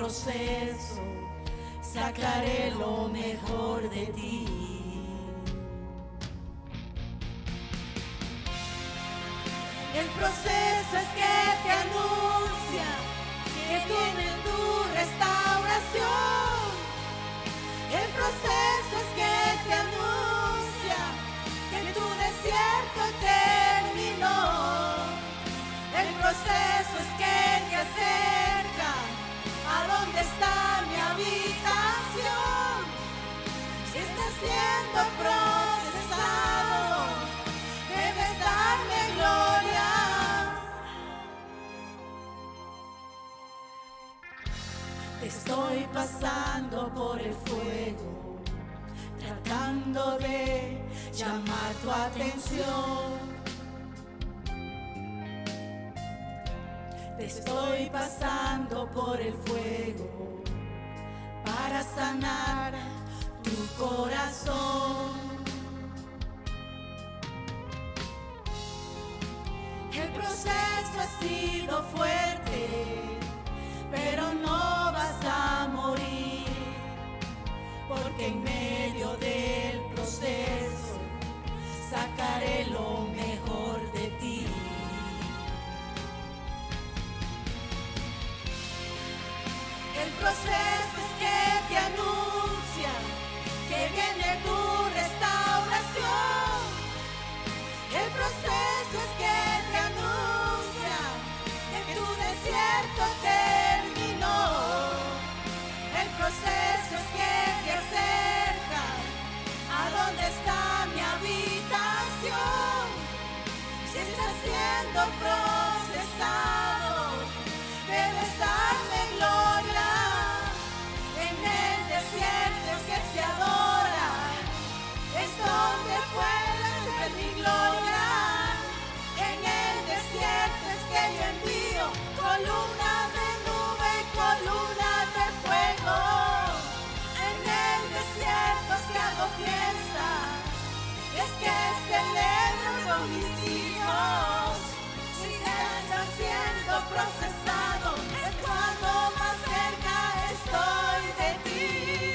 proceso sacaré lo mejor de ti. El proceso es que te anuncia que viene tu restauración. El proceso es que te anuncia que tu desierto terminó. El proceso es que te acerca a donde está mi habitación. Si estás siendo procesado, debes darme gloria. Te estoy pasando por el fuego, tratando de llamar tu atención. Te estoy pasando por el fuego para sanar tu corazón. El proceso ha sido fuerte, pero no vas a morir, porque en medio del proceso sacaré lo mejor de ti. El proceso es que te anuncia que viene tu restauración. El proceso es que te anuncia que tu desierto terminó. El proceso es que te acerca a donde está mi habitación. Si estás siendo procesado, debes darme gloria. En el desierto es que se adora, es donde puedes ver mi gloria. En el desierto es que yo envío columna de nube y columna de fuego. En el desierto es que hago fiesta, es que celebro con mis hijos. Si estás siendo procesado, es cuando más cerca estoy de ti.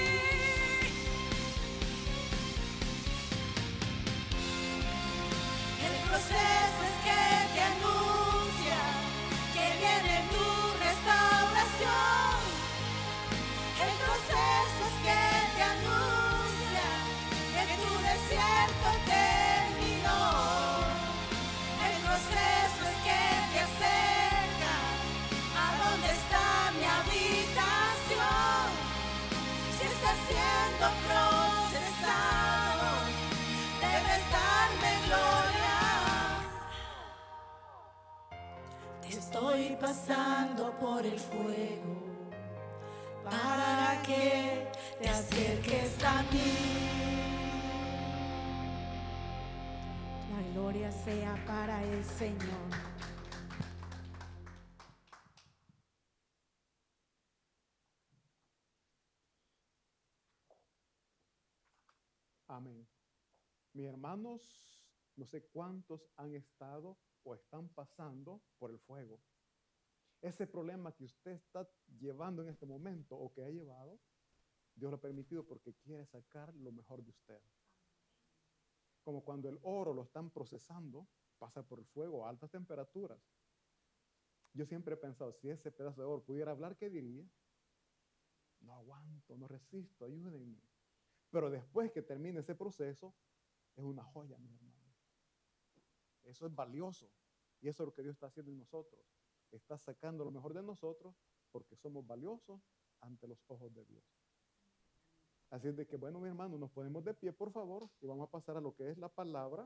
El proceso es que te anuncia que viene tu restauración. El proceso es que te anuncia que tu desierto terminó. El proceso es que te acerca a donde está mi habitación. Si estás siendo procesado, debes darme gloria. Te estoy pasando por el fuego para que te acerques a mí. La gloria sea para el Señor. Amén. Mis hermanos, no sé cuántos han estado o están pasando por el fuego. Ese problema que usted está llevando en este momento o que ha llevado, Dios lo ha permitido porque quiere sacar lo mejor de usted. Como cuando el oro lo están procesando, pasa por el fuego a altas temperaturas. Yo siempre he pensado, si ese pedazo de oro pudiera hablar, ¿qué diría? No aguanto, no resisto, ayúdenme. Pero después que termine ese proceso, es una joya, mi hermano. Eso es valioso. Y eso es lo que Dios está haciendo en nosotros. Está sacando lo mejor de nosotros porque somos valiosos ante los ojos de Dios. Así es de que, bueno, mi hermano, nos ponemos de pie, por favor, y vamos a pasar a lo que es la palabra.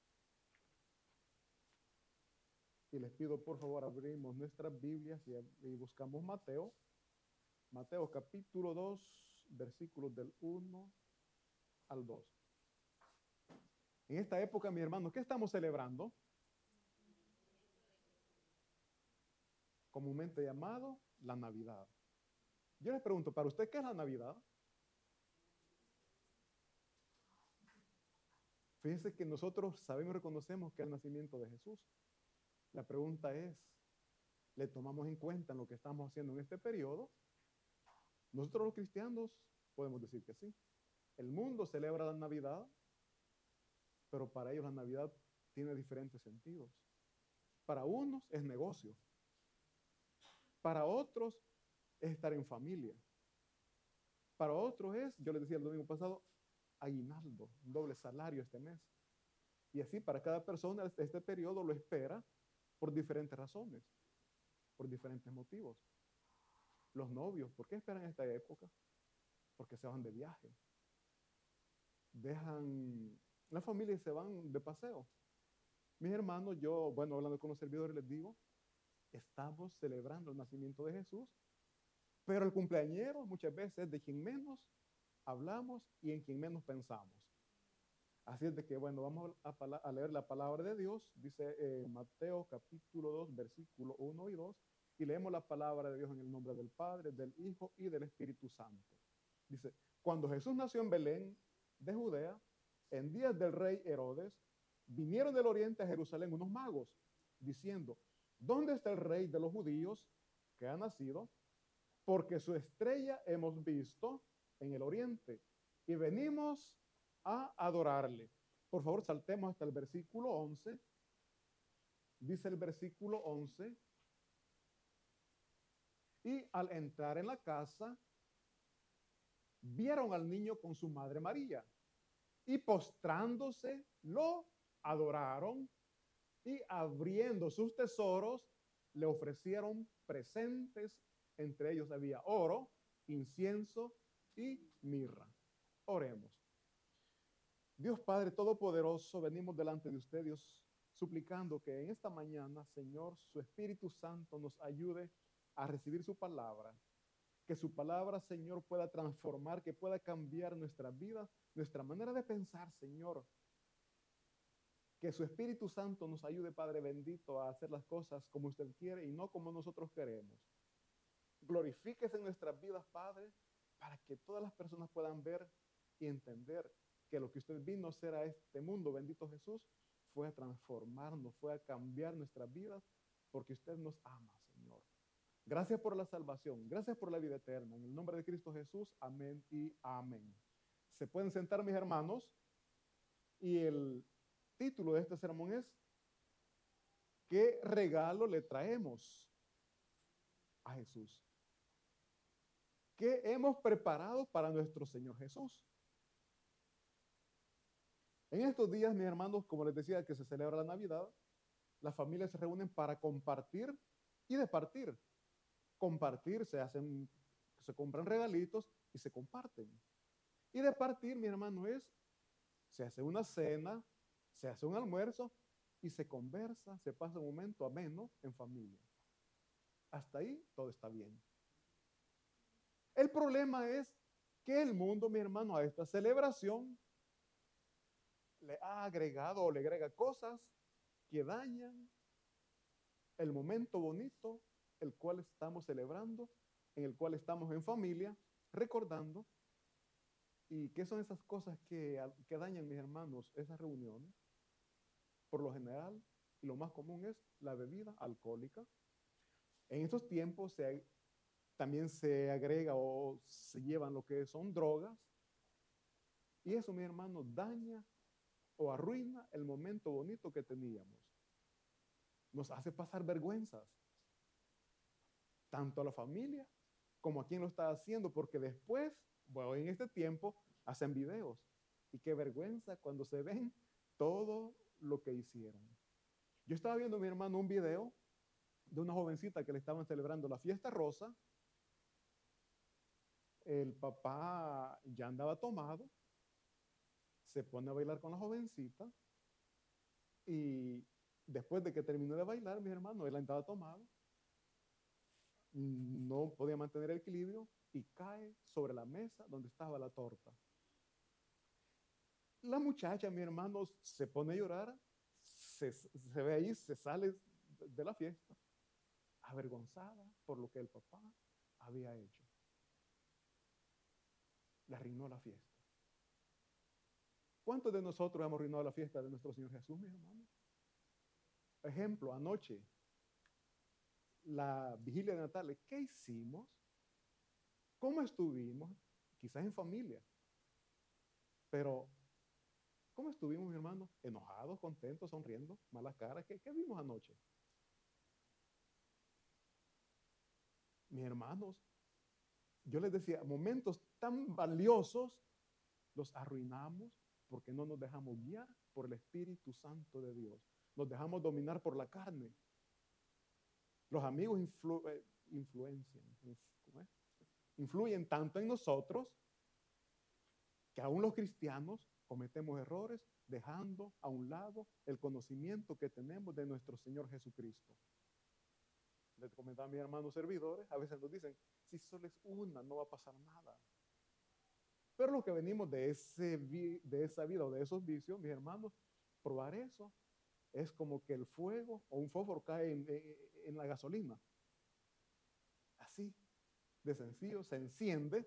Y les pido, por favor, abrimos nuestras Biblias y buscamos Mateo. Mateo capítulo 2, versículos del 1 al 2. En esta época, mi hermano, ¿qué estamos celebrando? Comúnmente llamado la Navidad. Yo les pregunto, ¿para usted qué es la Navidad? Fíjense que nosotros sabemos y reconocemos que es el nacimiento de Jesús. La pregunta es, ¿le tomamos en cuenta en lo que estamos haciendo en este periodo? Nosotros los cristianos podemos decir que sí. El mundo celebra la Navidad, pero para ellos la Navidad tiene diferentes sentidos. Para unos es negocio. Para otros es estar en familia. Para otros es, yo les decía el domingo pasado, aguinaldo, un doble salario este mes. Y así para cada persona este periodo lo espera por diferentes razones, por diferentes motivos. Los novios, ¿por qué esperan esta época? Porque se van de viaje. Dejan la familia y se van de paseo. Mis hermanos, yo, bueno, hablando con los servidores, les digo, estamos celebrando el nacimiento de Jesús, pero el cumpleañero muchas veces es de quien menos hablamos y en quien menos pensamos. Así es de que, bueno, vamos a leer la palabra de Dios, dice Mateo capítulo 2, versículo 1 y 2, y leemos la palabra de Dios en el nombre del Padre, del Hijo y del Espíritu Santo. Dice, cuando Jesús nació en Belén de Judea, en días del rey Herodes, vinieron del oriente a Jerusalén unos magos, diciendo, ¿dónde está el rey de los judíos que ha nacido? Porque su estrella hemos visto en el oriente y venimos a adorarle. Por favor, saltemos hasta el versículo 11. Dice el versículo 11, y al entrar en la casa, vieron al niño con su madre María, y postrándose, lo adoraron, y abriendo sus tesoros, le ofrecieron presentes. Entre ellos había oro, incienso y mirra. Oremos. Dios Padre Todopoderoso, venimos delante de usted, Dios, suplicando que en esta mañana, Señor, su Espíritu Santo nos ayude a recibir su palabra. Que su palabra, Señor, pueda transformar, que pueda cambiar nuestra vida, nuestra manera de pensar, Señor. Que su Espíritu Santo nos ayude, Padre bendito, a hacer las cosas como usted quiere y no como nosotros queremos. Glorifíquese en nuestras vidas, Padre, para que todas las personas puedan ver y entender que lo que usted vino a hacer a este mundo, bendito Jesús, fue a transformarnos, fue a cambiar nuestras vidas, porque usted nos ama, Señor. Gracias por la salvación, gracias por la vida eterna. En el nombre de Cristo Jesús, amén y amén. Se pueden sentar, mis hermanos, y el título de este sermón es ¿qué regalo le traemos a Jesús? ¿Qué hemos preparado para nuestro Señor Jesús? En estos días, mis hermanos, como les decía, que se celebra la Navidad, las familias se reúnen para compartir y departir. Compartir, se compran regalitos y se comparten. Y departir, mi hermano, se hace una cena, se hace un almuerzo y se conversa, se pasa un momento ameno en familia. Hasta ahí todo está bien. El problema es que el mundo, mi hermano, a esta celebración le ha agregado o le agrega cosas que dañan el momento bonito, el cual estamos celebrando, en el cual estamos en familia, recordando. ¿Y qué son esas cosas que dañan, mis hermanos, esas reuniones? Por lo general, y lo más común es la bebida alcohólica. En estos tiempos también se agrega o se llevan lo que son drogas. Y eso, mi hermano, daña o arruina el momento bonito que teníamos. Nos hace pasar vergüenzas, tanto a la familia como a quien lo está haciendo, porque después, bueno, en este tiempo, hacen videos. Y qué vergüenza cuando se ven todo lo que hicieron. Yo estaba viendo, mi hermano, un video de una jovencita que le estaban celebrando la fiesta rosa. El papá ya andaba tomado, se pone a bailar con la jovencita y después de que terminó de bailar, mi hermano, él andaba tomado, no podía mantener el equilibrio y cae sobre la mesa donde estaba la torta. La muchacha, mi hermano, se pone a llorar, se ve ahí, se sale de la fiesta, avergonzada por lo que el papá había hecho. Le arruinó la fiesta. ¿Cuántos de nosotros hemos arruinado la fiesta de nuestro Señor Jesús, mis hermanos? Ejemplo, anoche, la vigilia de Natal, ¿qué hicimos? ¿Cómo estuvimos? Quizás en familia, pero ¿cómo estuvimos, mi hermano? ¿Enojados, contentos, sonriendo, malas caras? ¿Qué vimos anoche? Mis hermanos, yo les decía, momentos tan valiosos los arruinamos porque no nos dejamos guiar por el Espíritu Santo de Dios. Nos dejamos dominar por la carne. Los amigos influyen tanto en nosotros que aún los cristianos cometemos errores dejando a un lado el conocimiento que tenemos de nuestro Señor Jesucristo. Les comentaba a mis hermanos servidores, a veces nos dicen, si solo es una, no va a pasar nada. Pero los que venimos de esa vida o de esos vicios, mis hermanos, probar eso es como que el fuego o un fósforo cae en la gasolina. Así, de sencillo, se enciende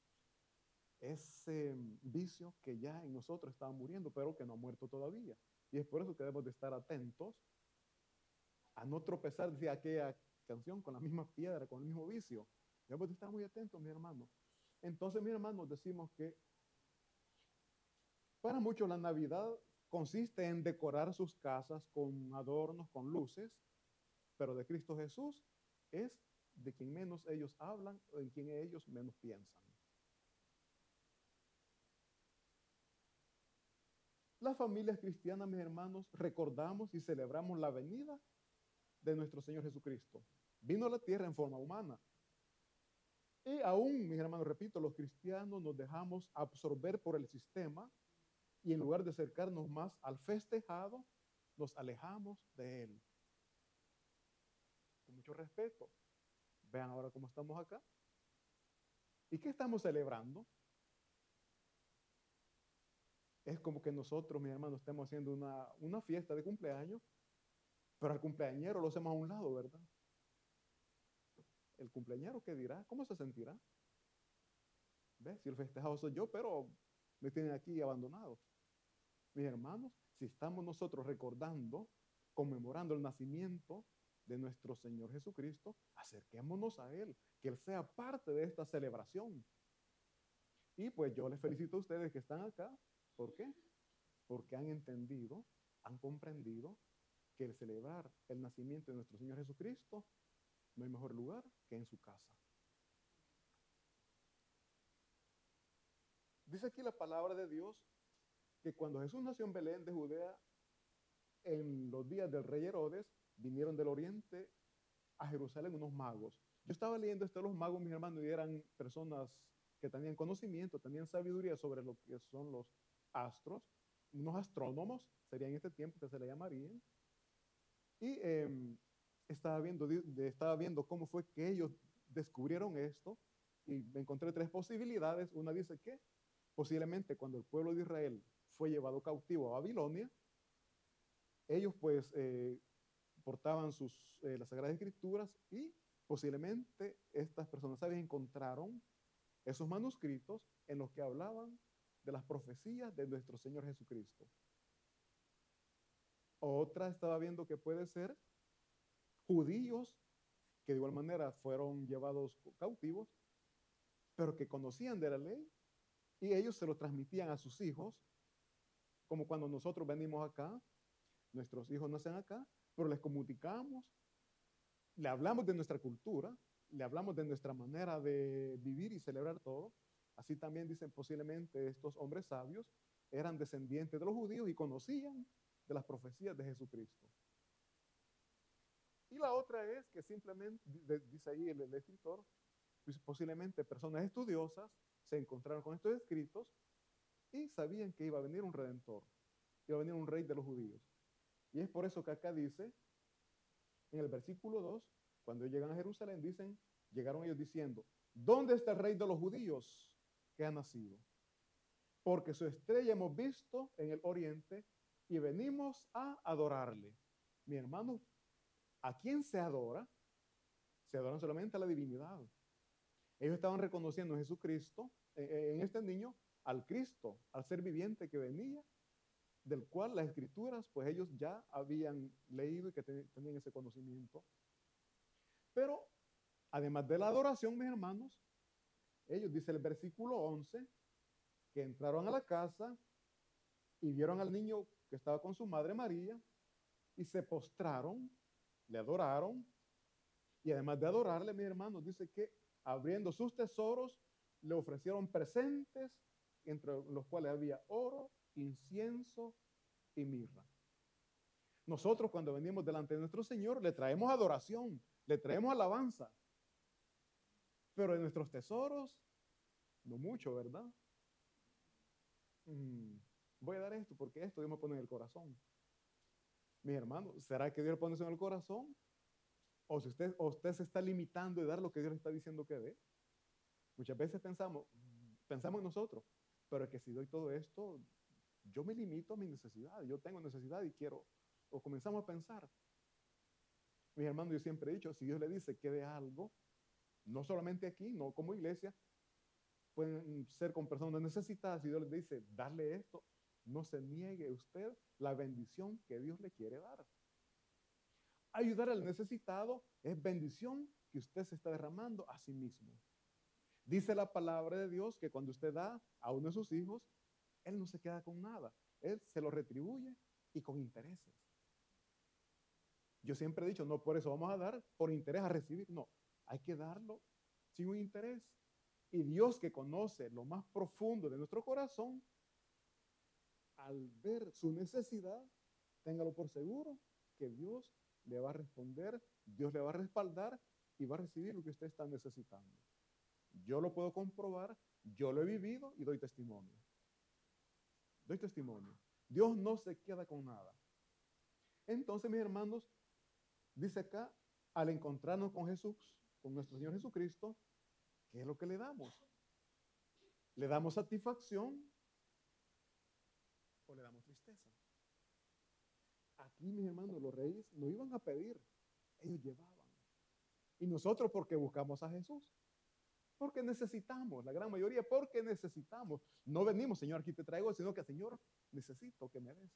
ese vicio que ya en nosotros estaba muriendo, pero que no ha muerto todavía. Y es por eso que debemos de estar atentos a no tropezar, decía aquella canción, con la misma piedra, con el mismo vicio. Debemos de estar muy atentos, mis hermanos. Entonces, mis hermanos, decimos que para muchos la Navidad consiste en decorar sus casas con adornos, con luces, pero de Cristo Jesús es de quien menos ellos hablan o en quien ellos menos piensan. Las familias cristianas, mis hermanos, recordamos y celebramos la venida de nuestro Señor Jesucristo. Vino a la tierra en forma humana. Y aún, mis hermanos, repito, los cristianos nos dejamos absorber por el sistema y en lugar de acercarnos más al festejado, nos alejamos de él. Con mucho respeto. Vean ahora cómo estamos acá. ¿Y qué estamos celebrando? Es como que nosotros, mis hermanos, estemos haciendo una fiesta de cumpleaños, pero al cumpleañero lo hacemos a un lado, ¿verdad? ¿El cumpleañero qué dirá? ¿Cómo se sentirá? ¿Ves? Si el festejado soy yo, pero me tienen aquí abandonado. Mis hermanos, si estamos nosotros recordando, conmemorando el nacimiento de nuestro Señor Jesucristo, acerquémonos a Él, que Él sea parte de esta celebración. Y pues yo les felicito a ustedes que están acá. ¿Por qué? Porque han entendido, han comprendido que el celebrar el nacimiento de nuestro Señor Jesucristo no hay mejor lugar que en su casa. Dice aquí la palabra de Dios que cuando Jesús nació en Belén de Judea, en los días del rey Herodes, vinieron del oriente a Jerusalén unos magos. Yo estaba leyendo esto de los magos, mis hermanos, y eran personas que tenían conocimiento, tenían sabiduría sobre lo que son los astros, unos astrónomos, sería en este tiempo que se le llamarían. Y estaba viendo cómo fue que ellos descubrieron esto y me encontré tres posibilidades. Una dice que posiblemente cuando el pueblo de Israel fue llevado cautivo a Babilonia, ellos pues portaban las Sagradas Escrituras y posiblemente estas personas sabias encontraron esos manuscritos en los que hablaban de las profecías de nuestro Señor Jesucristo. Otra estaba viendo que puede ser judíos que de igual manera fueron llevados cautivos, pero que conocían de la ley y ellos se lo transmitían a sus hijos, como cuando nosotros venimos acá, nuestros hijos nacen acá, pero les comunicamos, le hablamos de nuestra cultura, le hablamos de nuestra manera de vivir y celebrar todo. Así también dicen posiblemente estos hombres sabios eran descendientes de los judíos y conocían de las profecías de Jesucristo. Y la otra es que simplemente, dice ahí el escritor, posiblemente personas estudiosas se encontraron con estos escritos y sabían que iba a venir un redentor, iba a venir un rey de los judíos. Y es por eso que acá dice, en el versículo 2, cuando llegan a Jerusalén, llegaron ellos diciendo, ¿dónde está el rey de los judíos que ha nacido? Porque su estrella hemos visto en el oriente y venimos a adorarle. Mi hermano, ¿a quién se adora? Se adoran solamente a la divinidad. Ellos estaban reconociendo en Jesucristo, en este niño, al Cristo, al ser viviente que venía, del cual las escrituras, pues ellos ya habían leído y que tenían ese conocimiento. Pero, además de la adoración, mis hermanos, Ellos, dice el versículo 11, que entraron a la casa y vieron al niño que estaba con su madre María y se postraron, le adoraron, y además de adorarle, mis hermanos, dice que abriendo sus tesoros, le ofrecieron presentes, entre los cuales había oro, incienso y mirra. Nosotros cuando venimos delante de nuestro Señor, le traemos adoración, le traemos alabanza, pero en nuestros tesoros, no mucho, ¿verdad? Voy a dar esto porque esto Dios me pone en el corazón. Mis hermanos, ¿será que Dios le pone eso en el corazón? O si usted se está limitando de dar lo que Dios le está diciendo que dé. Muchas veces pensamos en nosotros, pero es que si doy todo esto, yo me limito a mi necesidad. Yo tengo necesidad y quiero, o comenzamos a pensar. Mis hermanos, yo siempre he dicho, si Dios le dice que dé algo, no solamente aquí, no como iglesia, pueden ser con personas necesitadas. Si Dios les dice, darle esto, no se niegue usted la bendición que Dios le quiere dar. Ayudar al necesitado es bendición que usted se está derramando a sí mismo. Dice la palabra de Dios que cuando usted da a uno de sus hijos, él no se queda con nada. Él se lo retribuye y con intereses. Yo siempre he dicho, no por eso vamos a dar por interés a recibir. No, hay que darlo sin un interés. Y Dios, que conoce lo más profundo de nuestro corazón, al ver su necesidad, téngalo por seguro que Dios le va a responder, Dios le va a respaldar y va a recibir lo que usted está necesitando. Yo lo puedo comprobar, yo lo he vivido y doy testimonio. Doy testimonio. Dios no se queda con nada. Entonces, mis hermanos, dice acá, al encontrarnos con Jesús, con nuestro Señor Jesucristo, ¿qué es lo que le damos? ¿Le damos satisfacción o le damos tristeza? Aquí, mis hermanos, los reyes no iban a pedir, ellos llevaban. Y nosotros, porque buscamos a Jesús, porque necesitamos, la gran mayoría, porque necesitamos. No venimos, Señor, aquí te traigo, sino que, Señor, necesito que me des.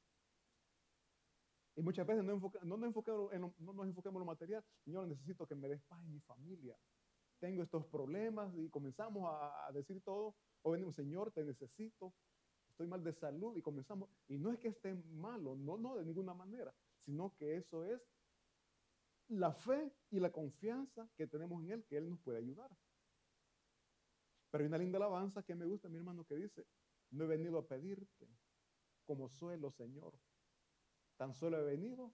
Y muchas veces no nos enfoquemos en lo material. Señor, necesito que me des paz en mi familia. Tengo estos problemas y comenzamos a decir todo. O venimos, Señor, te necesito. Estoy mal de salud y comenzamos. Y no es que esté malo, no, de ninguna manera. Sino que eso es la fe y la confianza que tenemos en Él, que Él nos puede ayudar. Pero hay una linda alabanza que me gusta, mi hermano, que dice, no he venido a pedirte como suelo, Señor. Tan solo he venido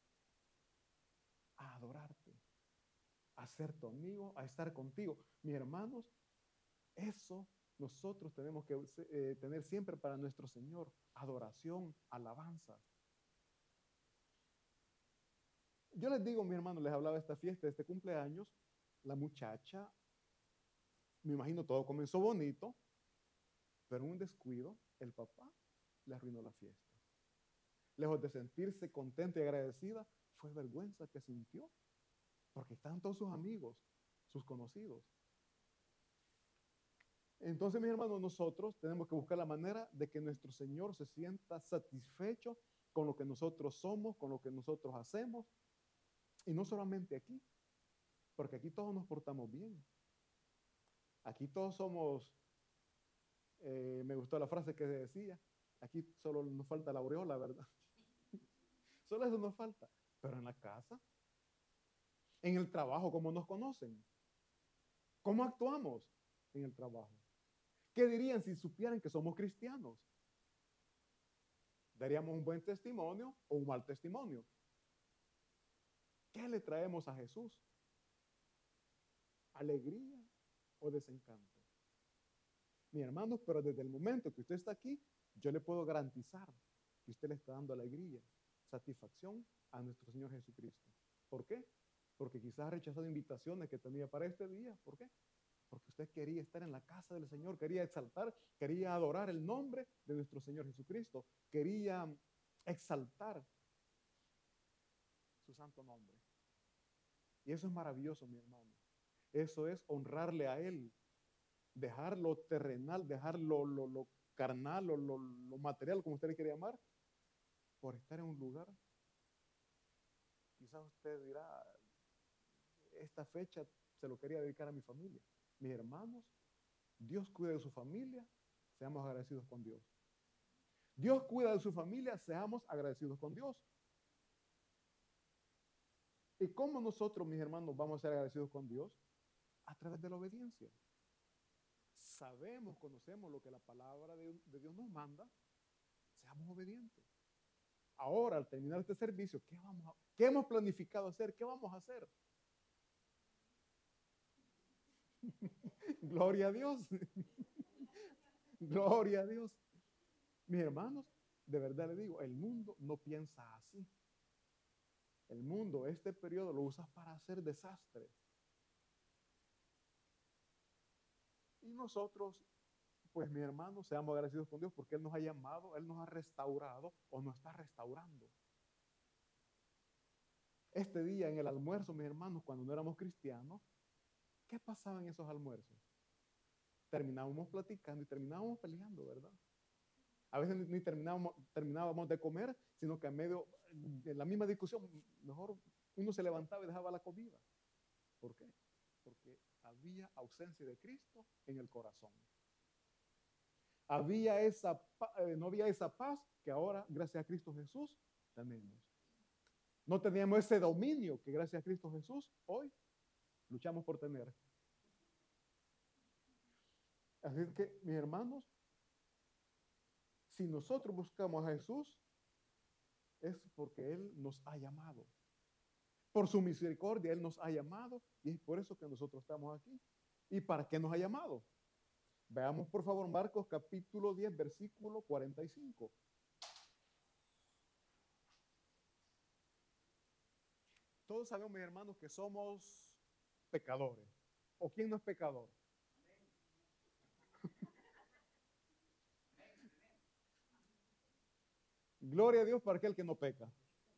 a adorarte, a ser tu amigo, a estar contigo. Mis hermanos, eso nosotros tenemos que tener siempre para nuestro Señor. Adoración, alabanza. Yo les digo, mis hermanos, les hablaba de esta fiesta, de este cumpleaños. La muchacha, me imagino todo comenzó bonito, pero en un descuido, el papá le arruinó la fiesta. Lejos de sentirse contenta y agradecida, fue vergüenza que sintió, porque están todos sus amigos, sus conocidos. Entonces, mis hermanos, nosotros tenemos que buscar la manera de que nuestro Señor se sienta satisfecho con lo que nosotros somos, con lo que nosotros hacemos, y no solamente aquí, porque aquí todos nos portamos bien. Aquí todos somos, me gustó la frase que decía, aquí solo nos falta la aureola, ¿verdad? Solo eso nos falta. Pero en la casa, en el trabajo, ¿cómo nos conocen? ¿Cómo actuamos en el trabajo? ¿Qué dirían si supieran que somos cristianos? ¿Daríamos un buen testimonio o un mal testimonio? ¿Qué le traemos a Jesús? ¿Alegría o desencanto? Mi hermano, pero desde el momento que usted está aquí, yo le puedo garantizar que usted le está dando alegría, satisfacción a nuestro Señor Jesucristo. ¿Por qué? Porque quizás ha rechazado invitaciones que tenía para este día. ¿Por qué? Porque usted quería estar en la casa del Señor, quería exaltar, quería adorar el nombre de nuestro Señor Jesucristo, quería exaltar su santo nombre. Y eso es maravilloso, mi hermano. Eso es honrarle a Él, dejar lo terrenal, dejar lo carnal, lo material, como usted le quiere llamar, por estar en un lugar. Quizás usted dirá, esta fecha se lo quería dedicar a mi familia. Mis hermanos, Dios cuida de su familia, seamos agradecidos con Dios. Dios cuida de su familia, seamos agradecidos con Dios. ¿Y cómo nosotros, mis hermanos, vamos a ser agradecidos con Dios? A través de la obediencia. Sabemos, conocemos lo que la palabra de Dios nos manda, seamos obedientes. Ahora, al terminar este servicio, ¿qué hemos planificado hacer? ¿Qué vamos a hacer? Gloria a Dios. Gloria a Dios. Mis hermanos, de verdad les digo, el mundo no piensa así. El mundo, este periodo lo usa para hacer desastres. Y nosotros, pues mis hermanos, seamos agradecidos con Dios porque Él nos ha llamado, Él nos ha restaurado o nos está restaurando. Este día en el almuerzo, mis hermanos, cuando no éramos cristianos, ¿qué pasaba en esos almuerzos? Terminábamos platicando y terminábamos peleando, ¿verdad? A veces ni terminábamos de comer, sino que en medio de la misma discusión, mejor uno se levantaba y dejaba la comida. ¿Por qué? Porque había ausencia de Cristo en el corazón. No había esa paz que ahora, gracias a Cristo Jesús, tenemos. No teníamos ese dominio que gracias a Cristo Jesús hoy luchamos por tener. Así es que, mis hermanos, si nosotros buscamos a Jesús, es porque Él nos ha llamado. Por su misericordia, Él nos ha llamado y es por eso que nosotros estamos aquí. ¿Y para qué nos ha llamado? Veamos, por favor, Marcos capítulo 10, versículo 45. Todos sabemos, mis hermanos, que somos pecadores. ¿O quién no es pecador? Gloria a Dios para aquel que no peca.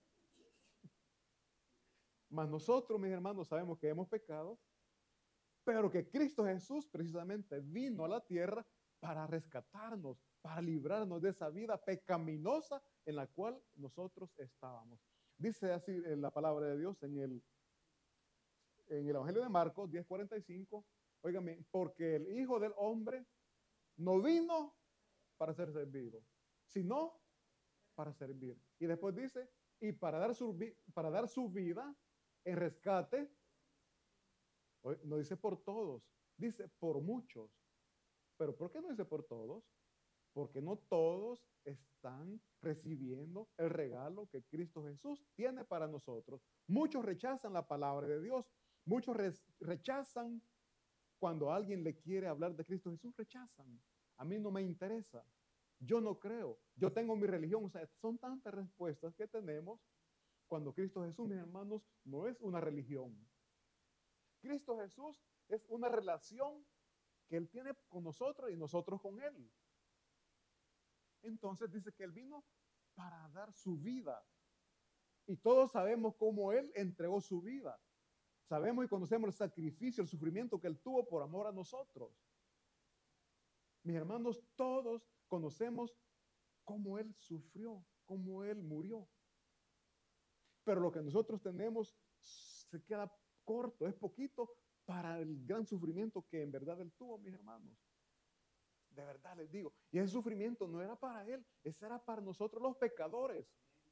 Mas nosotros, mis hermanos, sabemos que hemos pecado, pero que Cristo Jesús precisamente vino a la tierra para rescatarnos, para librarnos de esa vida pecaminosa en la cual nosotros estábamos. Dice así la palabra de Dios en el Evangelio de Marcos 10:45, óigame, porque el Hijo del Hombre no vino para ser servido, sino para servir. Y después dice, y para dar su vida en rescate, no dice por todos, dice por muchos. ¿Pero por qué no dice por todos? Porque no todos están recibiendo el regalo que Cristo Jesús tiene para nosotros. Muchos rechazan la palabra de Dios. Muchos rechazan cuando alguien le quiere hablar de Cristo Jesús, rechazan. A mí no me interesa. Yo no creo. Yo tengo mi religión. O sea, son tantas respuestas que tenemos cuando Cristo Jesús, mis hermanos, no es una religión. Cristo Jesús es una relación que Él tiene con nosotros y nosotros con Él. Entonces dice que Él vino para dar su vida. Y todos sabemos cómo Él entregó su vida. Sabemos y conocemos el sacrificio, el sufrimiento que Él tuvo por amor a nosotros. Mis hermanos, todos conocemos cómo Él sufrió, cómo Él murió. Pero lo que nosotros tenemos se queda corto, es poquito para el gran sufrimiento que en verdad Él tuvo, mis hermanos. De verdad les digo. Y ese sufrimiento no era para Él, ese era para nosotros los pecadores.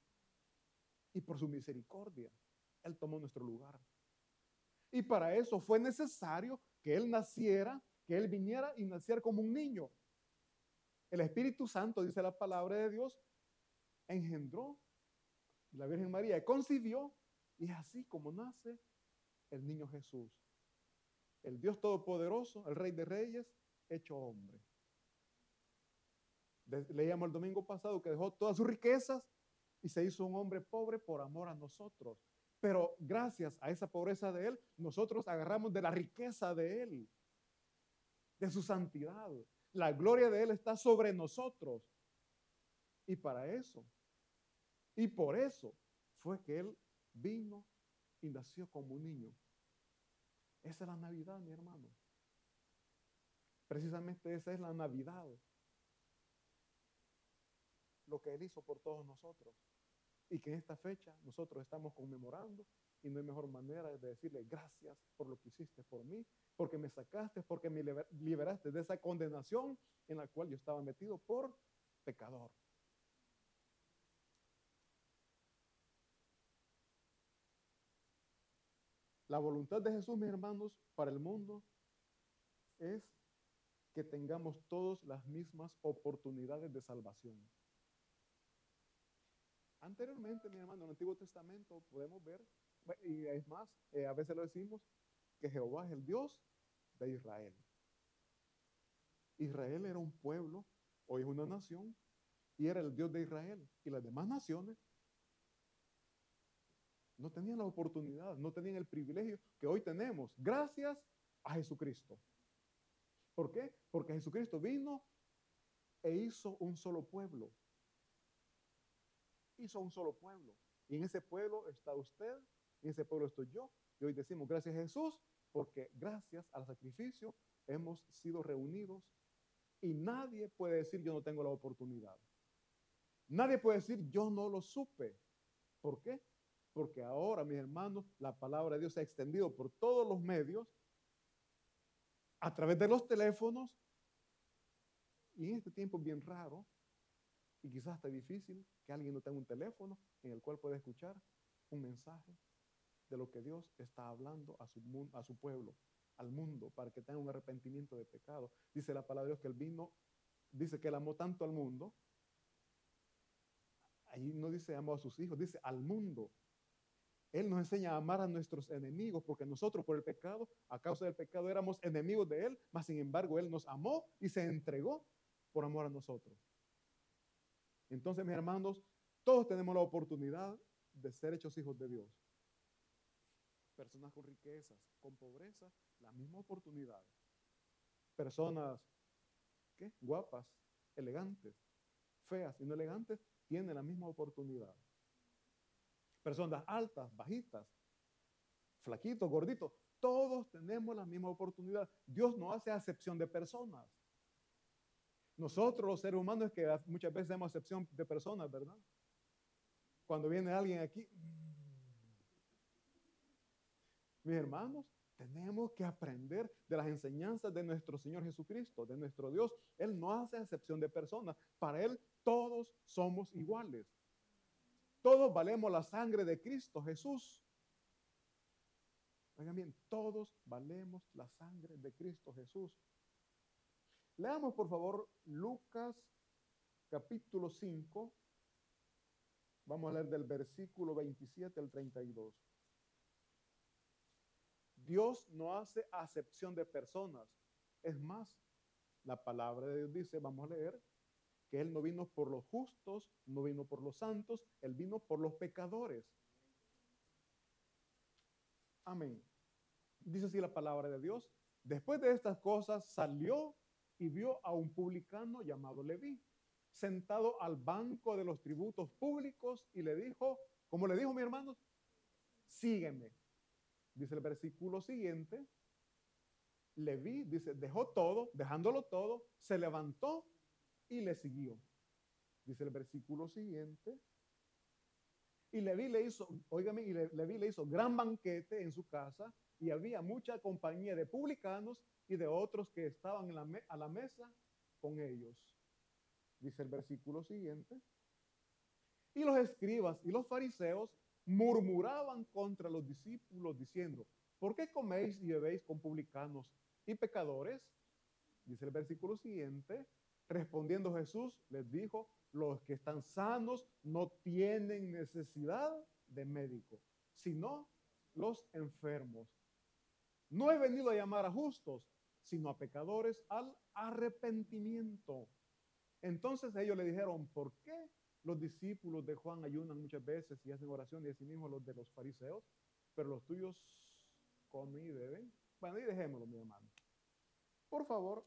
Y por su misericordia, Él tomó nuestro lugar. Y para eso fue necesario que Él naciera, que Él viniera y naciera como un niño. El Espíritu Santo, dice la palabra de Dios, engendró la Virgen María, concibió, y es así como nace el niño Jesús. El Dios Todopoderoso, el Rey de Reyes, hecho hombre. Leíamos el domingo pasado que dejó todas sus riquezas y se hizo un hombre pobre por amor a nosotros. Pero gracias a esa pobreza de Él, nosotros agarramos de la riqueza de Él, de su santidad. La gloria de Él está sobre nosotros. Y para eso, y por eso, fue que Él vino y nació como un niño. Esa es la Navidad, mi hermano. Precisamente esa es la Navidad. Lo que Él hizo por todos nosotros. Y que en esta fecha nosotros estamos conmemorando Y no hay mejor manera de decirle gracias por lo que hiciste por mí, porque me sacaste, porque me liberaste de esa condenación en la cual yo estaba metido por pecador. La voluntad de Jesús, mis hermanos, para el mundo es que tengamos todos las mismas oportunidades de salvación. Anteriormente, mi hermano, en el Antiguo Testamento podemos ver, y es más, a veces lo decimos, que Jehová es el Dios de Israel. Israel era un pueblo, hoy es una nación, y era el Dios de Israel. Y las demás naciones no tenían la oportunidad, no tenían el privilegio que hoy tenemos, gracias a Jesucristo. ¿Por qué? Porque Jesucristo vino e hizo un solo pueblo. Hizo un solo pueblo. Y en ese pueblo está usted, en ese pueblo estoy yo. Y hoy decimos gracias a Jesús, porque gracias al sacrificio hemos sido reunidos. Y nadie puede decir yo no tengo la oportunidad. Nadie puede decir yo no lo supe. ¿Por qué? Porque ahora, mis hermanos, la palabra de Dios se ha extendido por todos los medios, a través de los teléfonos, y en este tiempo es bien raro, y quizás hasta difícil, que alguien no tenga un teléfono en el cual pueda escuchar un mensaje de lo que Dios está hablando a su pueblo, al mundo, para que tenga un arrepentimiento de pecado. Dice la palabra de Dios que Él vino, dice que Él amó tanto al mundo. Ahí no dice amó a sus hijos, dice al mundo. Él nos enseña a amar a nuestros enemigos, porque nosotros por el pecado, a causa del pecado, éramos enemigos de Él, mas sin embargo Él nos amó y se entregó por amor a nosotros. Entonces, mis hermanos, todos tenemos la oportunidad de ser hechos hijos de Dios. Personas con riquezas, con pobreza, la misma oportunidad. Personas, ¿qué? Guapas, elegantes, feas y no elegantes, tienen la misma oportunidad. Personas altas, bajitas, flaquitos, gorditos, todos tenemos la misma oportunidad. Dios no hace acepción de personas. Nosotros los seres humanos es que muchas veces hacemos acepción de personas, ¿verdad? Cuando viene alguien aquí, mis hermanos, tenemos que aprender de las enseñanzas de nuestro Señor Jesucristo, de nuestro Dios. Él no hace acepción de personas. Para Él todos somos iguales. Todos valemos la sangre de Cristo Jesús. Oigan bien, todos valemos la sangre de Cristo Jesús. Leamos por favor Lucas capítulo 5. Vamos a leer del versículo 27 al 32. Dios no hace acepción de personas. Es más, la palabra de Dios dice, vamos a leer, que Él no vino por los justos, no vino por los santos, Él vino por los pecadores. Amén. Dice así la palabra de Dios. Después de estas cosas salió y vio a un publicano llamado Leví, sentado al banco de los tributos públicos, y le dijo, como le dijo mi hermano, sígueme. Dice el versículo siguiente, Leví, dice, dejó todo, dejándolo todo, se levantó y le siguió. Dice el versículo siguiente, y Leví le hizo, óigame, y Leví le hizo gran banquete en su casa, y había mucha compañía de publicanos y de otros que estaban a la mesa con ellos. Dice el versículo siguiente, y los escribas y los fariseos murmuraban contra los discípulos diciendo, ¿por qué coméis y bebéis con publicanos y pecadores? Dice el versículo siguiente, respondiendo Jesús les dijo, los que están sanos no tienen necesidad de médico, sino los enfermos. No he venido a llamar a justos, sino a pecadores al arrepentimiento. Entonces ellos le dijeron, ¿por qué los discípulos de Juan ayunan muchas veces y hacen oración, y así mismo los de los fariseos, pero los tuyos comen y beben? Bueno, y dejémoslo, mi hermano. Por favor,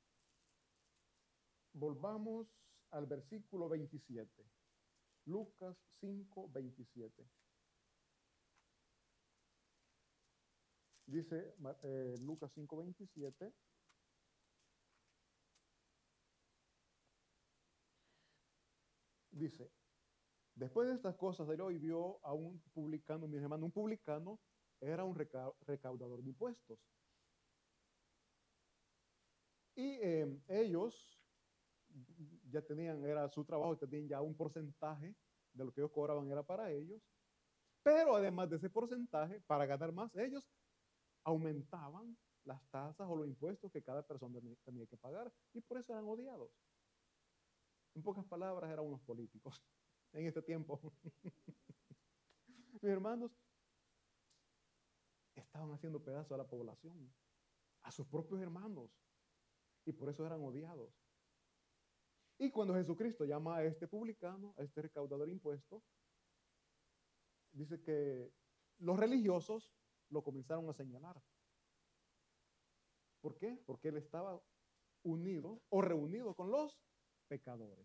volvamos al versículo 27. Lucas 5, 27. Dice Lucas 5, 27. Dice, Después de estas cosas, él hoy vio a un publicano, mis hermanos, un publicano era un recaudador de impuestos. Y ellos ya tenían, era su trabajo, tenían ya un porcentaje de lo que ellos cobraban era para ellos. Pero además de ese porcentaje, para ganar más, ellos aumentaban las tasas o los impuestos que cada persona tenía que pagar. Y por eso eran odiados. En pocas palabras, eran unos políticos en este tiempo. Mis hermanos, estaban haciendo pedazo a la población, a sus propios hermanos, y por eso eran odiados. Y cuando Jesucristo llama a este publicano, a este recaudador de impuestos, dice que los religiosos lo comenzaron a señalar. ¿Por qué? Porque él estaba unido o reunido con los pecadores.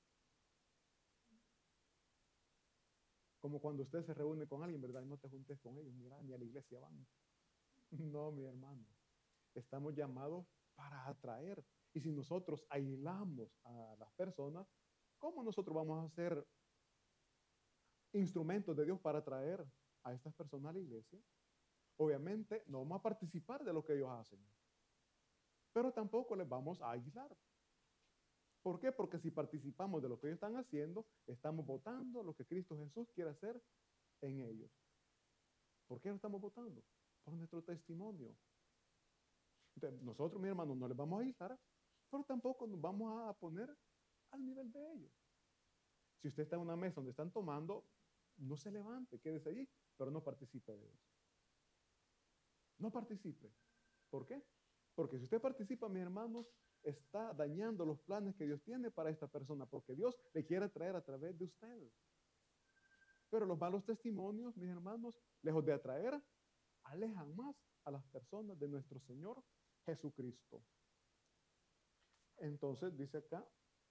Como cuando usted se reúne con alguien, ¿verdad? No te juntes con ellos, mira, ni a la iglesia van. No, mi hermano. Estamos llamados para atraer. Y si nosotros aislamos a las personas, ¿cómo nosotros vamos a ser instrumentos de Dios para atraer a estas personas a la iglesia? Obviamente no vamos a participar de lo que ellos hacen, pero tampoco les vamos a aislar. ¿Por qué? Porque si participamos de lo que ellos están haciendo, estamos votando lo que Cristo Jesús quiere hacer en ellos. ¿Por qué lo estamos votando? Por nuestro testimonio. Entonces, nosotros, mis hermanos, no les vamos a aislar, pero tampoco nos vamos a poner al nivel de ellos. Si usted está en una mesa donde están tomando, no se levante, quédese allí, pero no participe de eso. No participe. ¿Por qué? Porque si usted participa, mis hermanos, está dañando los planes que Dios tiene para esta persona, porque Dios le quiere traer a través de usted. Pero los malos testimonios, mis hermanos, lejos de atraer, alejan más a las personas de nuestro Señor Jesucristo. Entonces dice acá,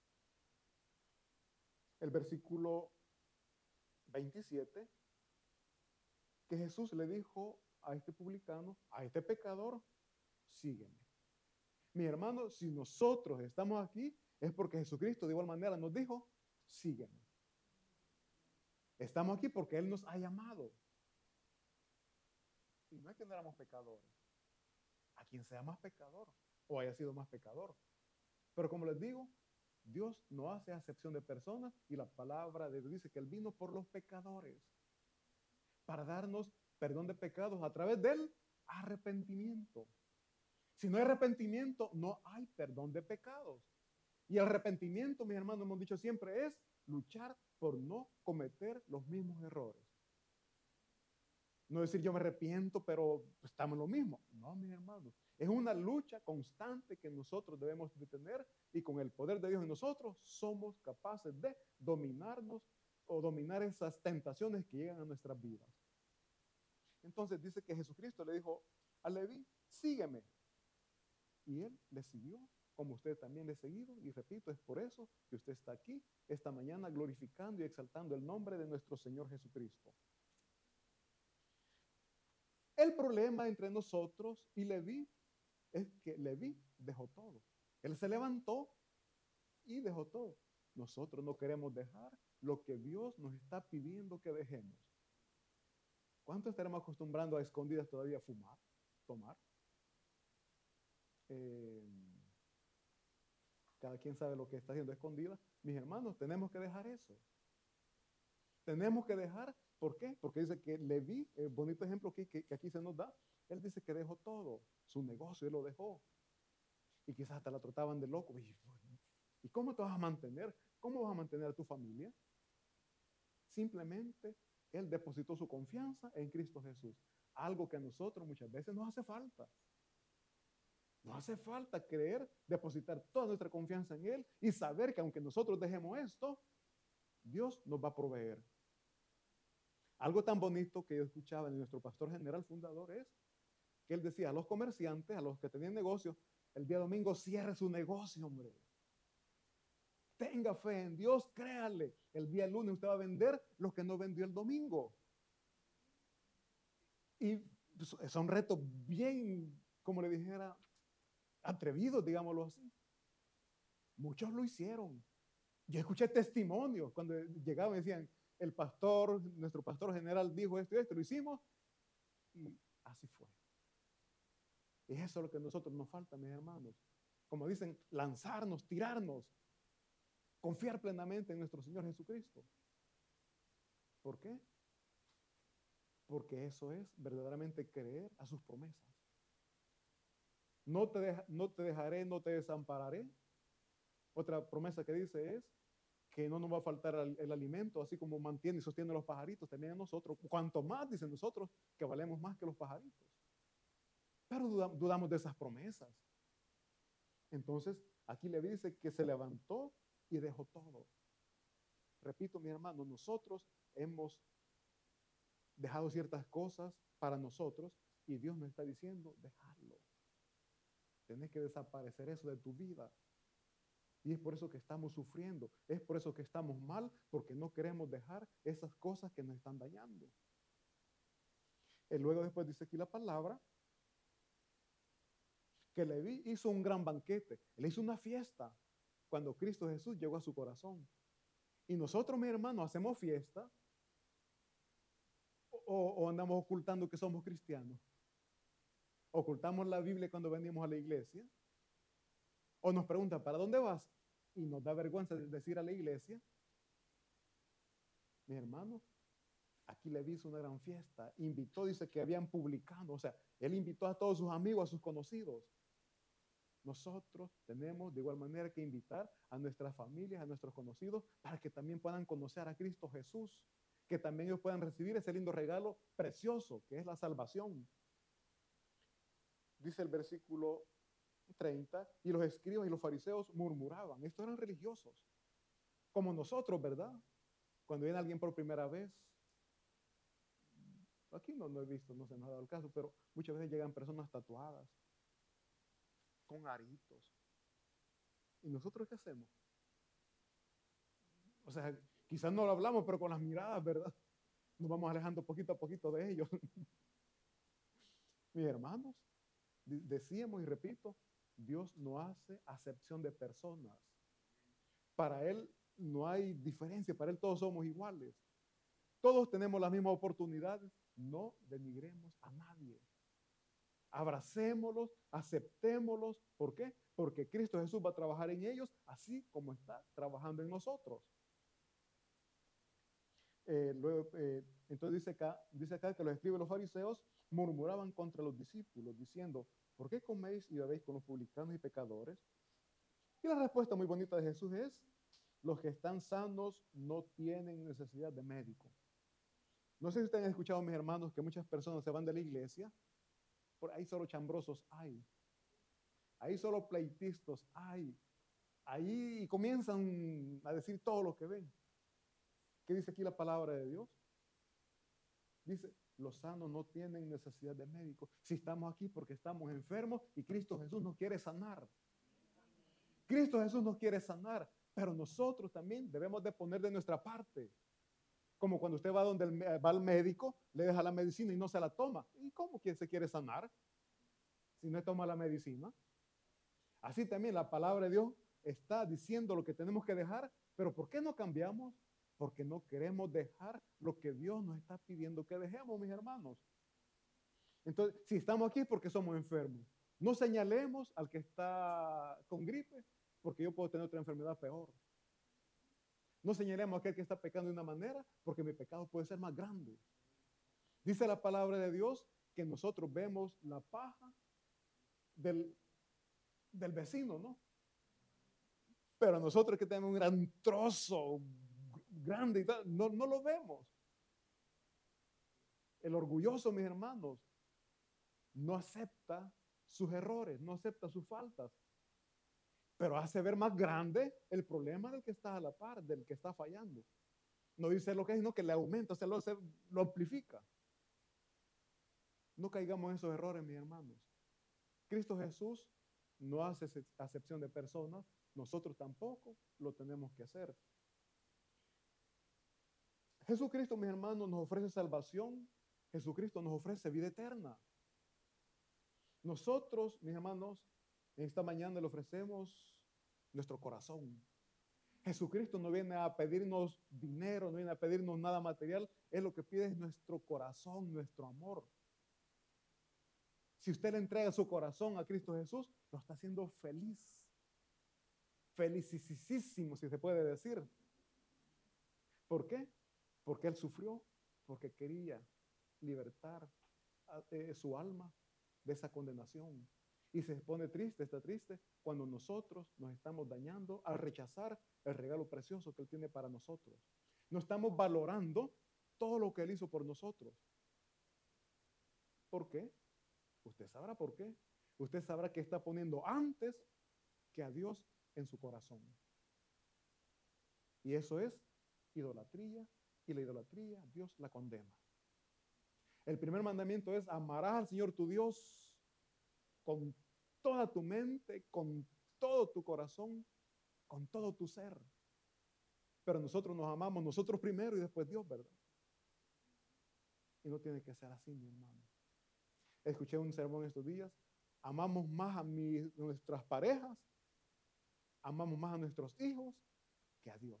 el versículo 27, que Jesús le dijo a este publicano, a este pecador, sígueme. Mi hermano, si nosotros estamos aquí, es porque Jesucristo de igual manera nos dijo, sígueme. Estamos aquí porque Él nos ha llamado. Y no es que no éramos pecadores. A quien sea más pecador o haya sido más pecador. Pero como les digo, Dios no hace acepción de personas y la palabra de Dios dice que Él vino por los pecadores para darnos perdón de pecados a través del arrepentimiento. Si no hay arrepentimiento, no hay perdón de pecados. Y el arrepentimiento, mis hermanos, hemos dicho siempre, es luchar por no cometer los mismos errores. No decir yo me arrepiento, pero estamos en lo mismo. No, mis hermanos. Es una lucha constante que nosotros debemos de tener y con el poder de Dios en nosotros somos capaces de dominarnos o dominar esas tentaciones que llegan a nuestras vidas. Entonces dice que Jesucristo le dijo a Leví, sígueme. Y él le siguió, como usted también le ha seguido. Y repito, es por eso que usted está aquí esta mañana glorificando y exaltando el nombre de nuestro Señor Jesucristo. El problema entre nosotros y Leví es que Leví dejó todo. Él se levantó y dejó todo. Nosotros no queremos dejar lo que Dios nos está pidiendo que dejemos. ¿Cuánto estaremos acostumbrando a escondidas todavía a fumar, tomar? Cada quien sabe lo que está haciendo a escondidas. Mis hermanos, tenemos que dejar eso. Tenemos que dejar, ¿por qué? Porque dice que Leví, el bonito ejemplo que aquí se nos da, él dice que dejó todo, su negocio, él lo dejó. Y quizás hasta la trataban de loco. ¿Y cómo te vas a mantener? ¿Cómo vas a mantener a tu familia? Simplemente él depositó su confianza en Cristo Jesús. Algo que a nosotros muchas veces nos hace falta. Nos hace falta creer, depositar toda nuestra confianza en Él y saber que aunque nosotros dejemos esto, Dios nos va a proveer. Algo tan bonito que yo escuchaba en nuestro pastor general fundador es que él decía a los comerciantes, a los que tenían negocios, el día domingo cierre su negocio, hombre. Tenga fe en Dios, créale. El día lunes usted va a vender lo que no vendió el domingo. Y son retos bien, como le dijera, atrevidos, digámoslo así. Muchos lo hicieron. Yo escuché testimonios cuando llegaban y decían, el pastor, nuestro pastor general dijo esto y esto, lo hicimos y así fue. Y eso es lo que a nosotros nos falta, mis hermanos. Como dicen, lanzarnos, tirarnos, confiar plenamente en nuestro Señor Jesucristo. ¿Por qué? Porque eso es verdaderamente creer a sus promesas. No te dejaré, no te desampararé. Otra promesa que dice es que no nos va a faltar el alimento, así como mantiene y sostiene a los pajaritos, también a nosotros. Cuanto más, dicen nosotros, que valemos más que los pajaritos. Pero dudamos de esas promesas. Entonces, aquí le dice que se levantó y dejó todo. Repito, mi hermano, nosotros hemos dejado ciertas cosas para nosotros y Dios nos está diciendo, dejarlo. Tenés que desaparecer eso de tu vida. Y es por eso que estamos sufriendo, es por eso que estamos mal, porque no queremos dejar esas cosas que nos están dañando. Y luego después dice aquí la palabra, que Leví hizo un gran banquete, le hizo una fiesta cuando Cristo Jesús llegó a su corazón. Y nosotros, mis hermanos, hacemos fiesta o andamos ocultando que somos cristianos. Ocultamos la Biblia cuando venimos a la iglesia. O nos preguntan, ¿para dónde vas? Y nos da vergüenza decir a la iglesia. Mis hermanos, aquí le hizo una gran fiesta. Invitó, dice que habían publicado. O sea, él invitó a todos sus amigos, a sus conocidos. Nosotros tenemos de igual manera que invitar a nuestras familias, a nuestros conocidos, para que también puedan conocer a Cristo Jesús. Que también ellos puedan recibir ese lindo regalo precioso, que es la salvación. Dice el versículo 30, y los escribas y los fariseos murmuraban. Estos eran religiosos, como nosotros, ¿verdad? Cuando viene alguien por primera vez, aquí no he visto, no se nos ha dado el caso, pero muchas veces llegan personas tatuadas, con aritos. ¿Y nosotros qué hacemos? O sea, quizás no lo hablamos, pero con las miradas, ¿verdad? Nos vamos alejando poquito a poquito de ellos. Mis hermanos, decíamos y repito, Dios no hace acepción de personas. Para Él no hay diferencia, para Él todos somos iguales. Todos tenemos las mismas oportunidades. No denigremos a nadie. Abracémoslos, aceptémoslos. ¿Por qué? Porque Cristo Jesús va a trabajar en ellos así como está trabajando en nosotros. Entonces dice acá que los escribas y los fariseos murmuraban contra los discípulos, diciendo, ¿por qué coméis y bebéis con los publicanos y pecadores? Y la respuesta muy bonita de Jesús es, los que están sanos no tienen necesidad de médico. No sé si ustedes han escuchado, mis hermanos, que muchas personas se van de la iglesia, por ahí solo chambrosos hay, ahí solo pleitistas hay, ahí comienzan a decir todo lo que ven. ¿Qué dice aquí la palabra de Dios? Dice, los sanos no tienen necesidad de médico. Si estamos aquí porque estamos enfermos y Cristo Jesús nos quiere sanar. Cristo Jesús nos quiere sanar, pero nosotros también debemos de poner de nuestra parte. Como cuando usted va va al médico, le deja la medicina y no se la toma. ¿Y cómo quien se quiere sanar si no toma la medicina? Así también la palabra de Dios está diciendo lo que tenemos que dejar, pero ¿por qué no cambiamos? Porque no queremos dejar lo que Dios nos está pidiendo que dejemos, mis hermanos. Entonces, si estamos aquí es porque somos enfermos. No señalemos al que está con gripe, porque yo puedo tener otra enfermedad peor. No señalemos a aquel que está pecando de una manera, porque mi pecado puede ser más grande. Dice la palabra de Dios que nosotros vemos la paja del vecino, ¿no? Pero nosotros que tenemos un gran trozo grande y tal, no lo vemos. El orgulloso, mis hermanos, no acepta sus errores, no acepta sus faltas, pero hace ver más grande el problema del que está a la par, del que está fallando. No dice lo que es, sino que le aumenta, lo amplifica. No caigamos en esos errores, mis hermanos. Cristo Jesús no hace acepción de personas, nosotros tampoco lo tenemos que hacer. Jesucristo, mis hermanos, nos ofrece salvación. Jesucristo nos ofrece vida eterna. Nosotros, mis hermanos, en esta mañana le ofrecemos nuestro corazón. Jesucristo no viene a pedirnos dinero, no viene a pedirnos nada material. Él lo que pide es nuestro corazón, nuestro amor. Si usted le entrega su corazón a Cristo Jesús, lo está haciendo feliz. Felicísimo, si se puede decir. ¿Por qué? Porque Él sufrió, porque quería libertar su alma de esa condenación. Y se pone triste, está triste, cuando nosotros nos estamos dañando al rechazar el regalo precioso que Él tiene para nosotros. No estamos valorando todo lo que Él hizo por nosotros. ¿Por qué? Usted sabrá por qué. Usted sabrá que está poniendo antes que a Dios en su corazón. Y eso es idolatría, y la idolatría Dios la condena. El primer mandamiento es: amarás al Señor tu Dios con toda tu mente, con todo tu corazón, con todo tu ser. Pero nosotros nos amamos nosotros primero y después Dios, ¿verdad? Y no tiene que ser así, mi hermano. Escuché un sermón estos días: amamos más a nuestras parejas, amamos más a nuestros hijos que a Dios.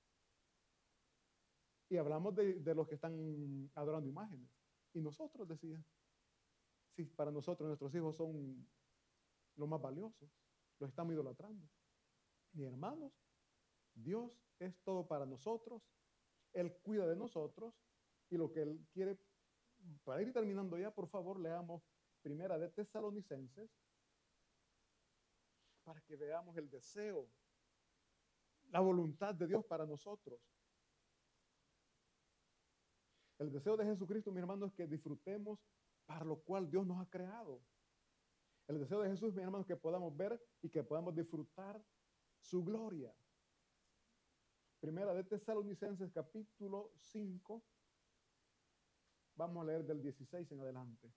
Y hablamos de los que están adorando imágenes. Y nosotros, decían, si para nosotros nuestros hijos son lo más valioso, los estamos idolatrando. Mis hermanos, Dios es todo para nosotros. Él cuida de nosotros. Y lo que Él quiere, para ir terminando ya, por favor, leamos Primera de Tesalonicenses, para que veamos el deseo, la voluntad de Dios para nosotros. El deseo de Jesucristo, mi hermano, es que disfrutemos para lo cual Dios nos ha creado. El deseo de Jesús, mi hermano, es que podamos ver y que podamos disfrutar su gloria. Primera de Tesalonicenses, capítulo 5. Vamos a leer del 16 en adelante.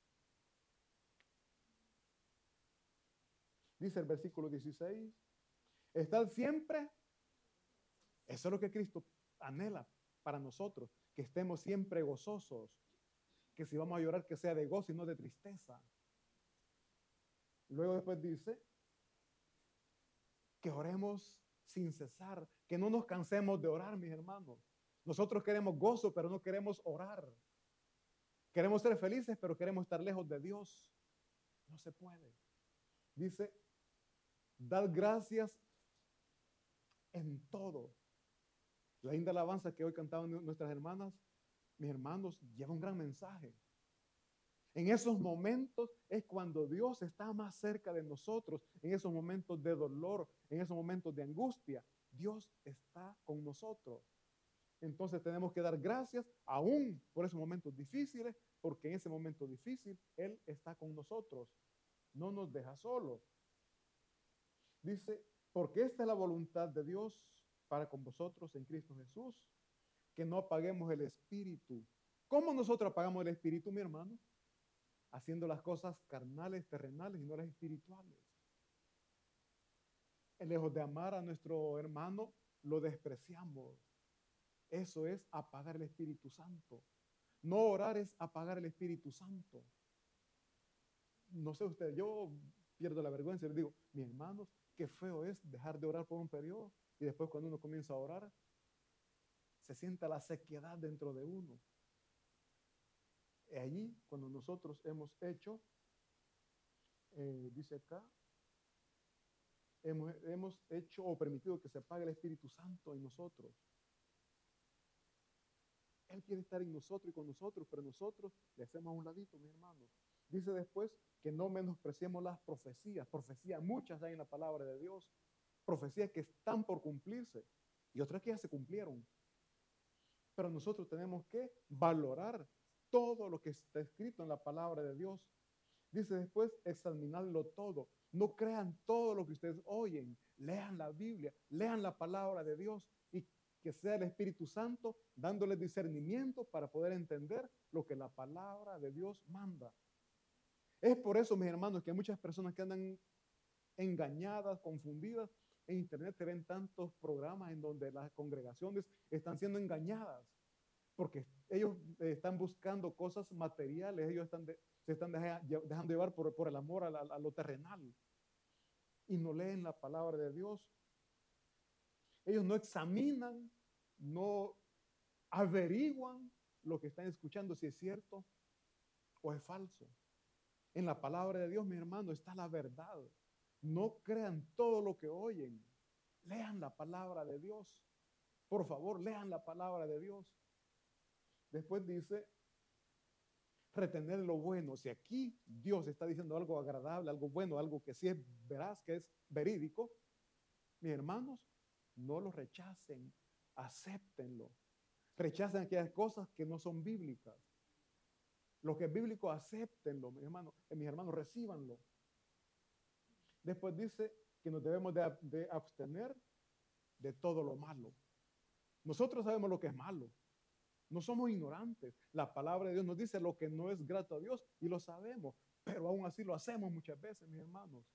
Dice el versículo 16: estad siempre, eso es lo que Cristo anhela para nosotros, que estemos siempre gozosos, que si vamos a llorar, que sea de gozo y no de tristeza. Luego después dice que oremos sin cesar, que no nos cansemos de orar, mis hermanos. Nosotros queremos gozo, pero no queremos orar. Queremos ser felices, pero queremos estar lejos de Dios. No se puede. Dice: dad gracias en todo. La linda alabanza que hoy cantaban nuestras hermanas, mis hermanos, lleva un gran mensaje. En esos momentos es cuando Dios está más cerca de nosotros. En esos momentos de dolor, en esos momentos de angustia, Dios está con nosotros. Entonces tenemos que dar gracias aún por esos momentos difíciles, porque en ese momento difícil Él está con nosotros. No nos deja solos. Dice: porque esta es la voluntad de Dios para con vosotros en Cristo Jesús, que no apaguemos el espíritu. ¿Cómo nosotros apagamos el espíritu, mi hermano? Haciendo las cosas carnales, terrenales y no las espirituales. Lejos de amar a nuestro hermano, lo despreciamos. Eso es apagar el Espíritu Santo. No orar es apagar el Espíritu Santo. No sé usted, yo pierdo la vergüenza y les digo: mis hermanos, qué feo es dejar de orar por un periodo y después cuando uno comienza a orar, se sienta la sequedad dentro de uno. Allí, cuando nosotros hemos hecho, dice acá, hemos hecho o permitido que se apague el Espíritu Santo en nosotros. Él quiere estar en nosotros y con nosotros, pero nosotros le hacemos a un ladito, mis hermanos. Dice después que no menospreciemos las profecías. Profecías, muchas hay en la palabra de Dios. Profecías que están por cumplirse y otras que ya se cumplieron. Pero nosotros tenemos que valorar todo lo que está escrito en la palabra de Dios. Dice después: examinarlo todo. No crean todo lo que ustedes oyen. Lean la Biblia, lean la palabra de Dios y que sea el Espíritu Santo dándoles discernimiento para poder entender lo que la palabra de Dios manda. Es por eso, mis hermanos, que hay muchas personas que andan engañadas, confundidas. En internet se ven tantos programas en donde las congregaciones están siendo engañadas porque ellos están buscando cosas materiales, ellos se están dejando llevar por el amor a lo terrenal y no leen la palabra de Dios. Ellos no examinan, no averiguan lo que están escuchando, si es cierto o es falso. En la palabra de Dios, mi hermano, está la verdad. No crean todo lo que oyen. Lean la palabra de Dios. Por favor, lean la palabra de Dios. Después dice, retener lo bueno. Si aquí Dios está diciendo algo agradable, algo bueno, algo que sí es veraz, que es verídico, mis hermanos, no lo rechacen, acéptenlo. Rechacen aquellas cosas que no son bíblicas. Lo que es bíblico, acéptenlo, mis hermanos, recíbanlo. Después dice que nos debemos de abstener de todo lo malo. Nosotros sabemos lo que es malo. No somos ignorantes. La palabra de Dios nos dice lo que no es grato a Dios y lo sabemos, pero aún así lo hacemos muchas veces, mis hermanos.